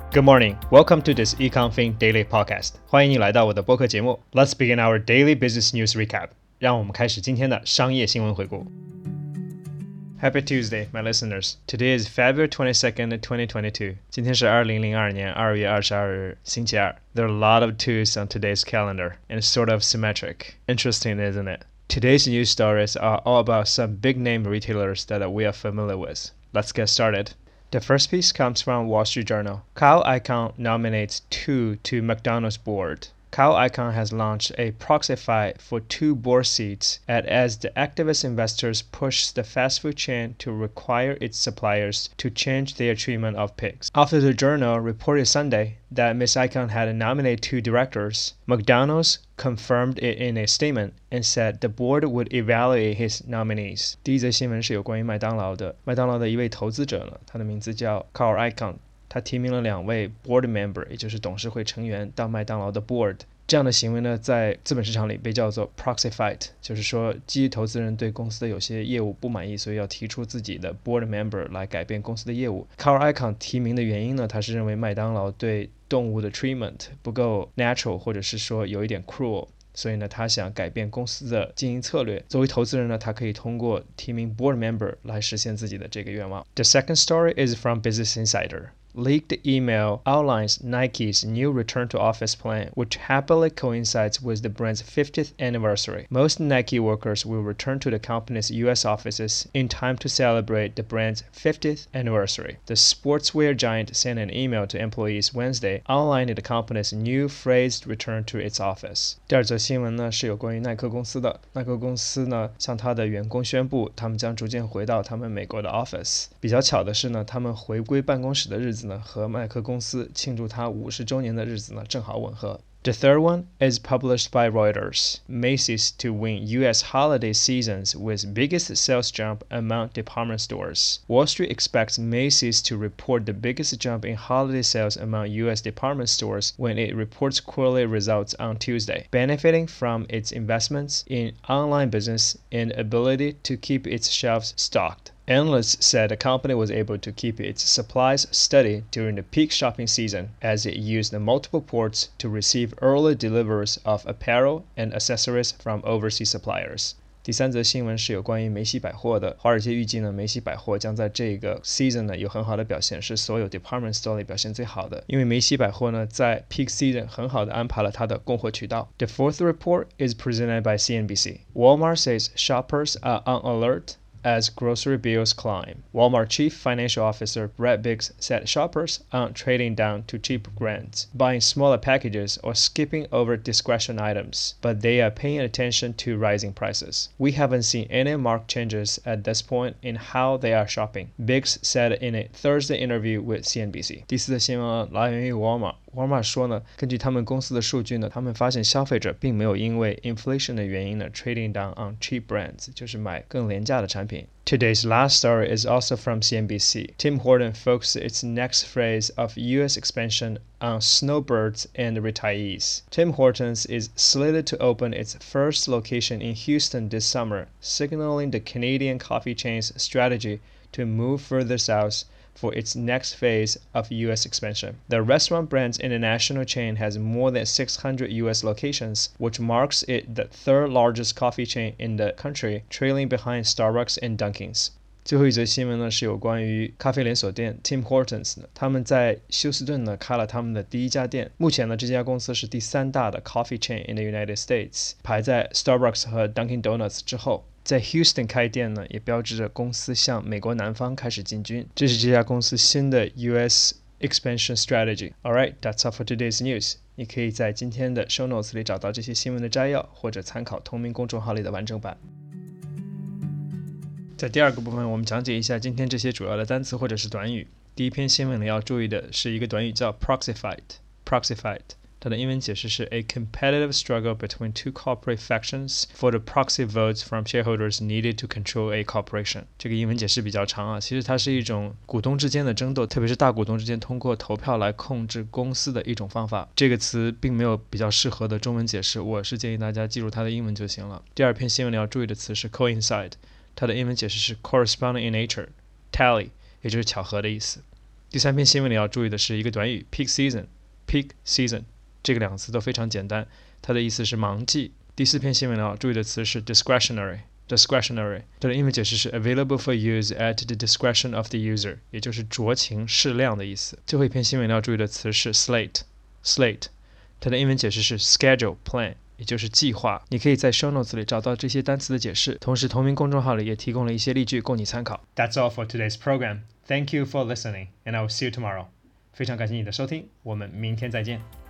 Good morning. Welcome to this EconFin Daily Podcast. 欢迎你来到我的播客节目。Let's begin our daily business news recap. 让我们开始今天的商业新闻回顾。Happy Tuesday, my listeners. Today is February 22nd, 2022. 今天是2002年2月22日，星期二。There are a lot of twos on today's calendar, and it's sort of symmetric. Interesting, isn't it? Today's news stories are all about some big-name retailers that we are familiar with. Let's get started. The first piece comes from Wall Street Journal. Kyle Icahn nominates two to McDonald's board. Kyle Icahn has launched a proxy fight for two board seats as the activist investors push the fast food chain to require its suppliers to change their treatment of pigs. After the Journal reported Sunday that Ms. Icahn had nominated two directors, McDonald's confirmed it in a statement and said the board would evaluate his nominees. 第一则新闻是有关于麦当劳的。麦当劳的一位投资者呢，他的名字叫 Kyle Icahn。他提名了2位 board member， 也就是董事会成员到麦当劳的 board。这样的行为呢，在资本市场里被叫做 proxy fight， 就是说基于投资人对公司的有些业务不满意，所以要提出自己的 board member 来改变公司的业务。Kyle Icahn 提名的原因呢，他是认为麦当劳对动物的 treatment 不够 natural， 或者是说有一点 cruel。所以呢，他想改变公司的经营策略。作为投资人呢，他可以通过提名 board member 来实现自己的这个愿望。The second story is from Business Insider.Leaked email outlines Nike's new return-to-office plan, which happily coincides with the brand's 50th anniversary. Most Nike workers will return to the company's U.S. offices in time to celebrate the brand's 50th anniversary. The sportswear giant sent an email to employees Wednesday outlining the company's new phased return to its office. 第二则新闻呢是有关于耐克公司的。耐克公司呢向他的员工宣布，他们将逐渐回到他们美国的 office。比较巧的是呢，他们回归办公室的日子和耐克公司庆祝它50周年的日子呢正好吻合。The third one is published by Reuters. Macy's to win U.S. holiday seasons with biggest sales jump among department stores. Wall Street expects Macy's to report the biggest jump in holiday sales among U.S. department stores when it reports quarterly results on Tuesday, benefiting from its investments in online business and ability to keep its shelves stocked.Analysts said the company was able to keep its supplies steady during the peak shopping season as it used multiple ports to receive early deliveries of apparel and accessories from overseas suppliers. 第三则新闻是有关于梅西百货的。华尔街预计呢，梅西百货将在这个 season 呢有很好的表现，是所有 department store 里表现最好的。因为梅西百货呢在 peak season 很好的安排了它的供货渠道。The fourth report is presented by CNBC. Walmart says shoppers are on alert.As grocery bills climb. Walmart Chief Financial Officer Brett Biggs said shoppers aren't trading down to cheap brands, buying smaller packages, or skipping over discretion items, but they are paying attention to rising prices. We haven't seen any marked changes at this point in how they are shopping, Biggs said in a Thursday interview with CNBC. 第四则新闻来源于 Walmart。Walmart 说呢，根据他们公司的数据呢，他们发现消费者并没有因为 inflation 的原因呢 trading down on cheap brands， 就是买更廉价的产品。Today's last story is also from CNBC. Tim Hortons focuses its next phase of U.S. expansion on snowbirds and retirees. Tim Hortons is slated to open its first location in Houston this summer, signaling the Canadian coffee chain's strategy to move further south.For its next phase of U.S. expansion. The restaurant brand's international chain has more than 600 U.S. locations, which marks it the third largest coffee chain in the country, trailing behind Starbucks and Dunkin's. 最后一则新闻呢是有关于咖啡连锁店 Tim Hortons 呢，他们在休斯顿呢开了他们的第一家店。目前呢这家公司是第3大的 coffee chain in the United States， 排在 Starbucks 和 Dunkin' Donuts 之后。在 Houston 开店呢，也标志着公司向美国南方开始进军。这是这家公司新的 US expansion strategy. Alright, that's all for today's news. 你可以在今天的 show notes 里找到这些新闻的摘要，或者参考同名公众号里的完整版。在第二个部分，我们讲解一下今天这些主要的单词或者是短语。第一篇新闻里要注意的是一个短语叫 proxy fight。proxy fight。它的英文解释是 A competitive struggle between two corporate factions for the proxy votes from shareholders needed to control a corporation. 这个英文解释比较长啊，其实它是一种股东之间的争斗，特别是大股东之间通过投票来控制公司的一种方法。这个词并没有比较适合的中文解释，我是建议大家记住它的英文就行了。第二篇新闻里要注意的词是 coincide， 它的英文解释是 corresponding in nature， tally 也就是巧合的意思。 第3篇新闻里要注意的是一个短语 peak season。peak season 这个2个词都非常简单，它的意思是忙季。第4篇新闻里要注意的词是 discretionary。它的英文解释是 available for use at the discretion of the user， 也就是酌情适量的意思。最后一篇新闻要注意的词是 slate， 它的英文解释是 schedule plan， 也就是计划。你可以在 show notes 里找到这些单词的解释，同时同名公众号里也提供了一些例句供你参考。That's all for today's program. Thank you for listening, and I will see you tomorrow. 非常感谢你的收听，我们明天再见。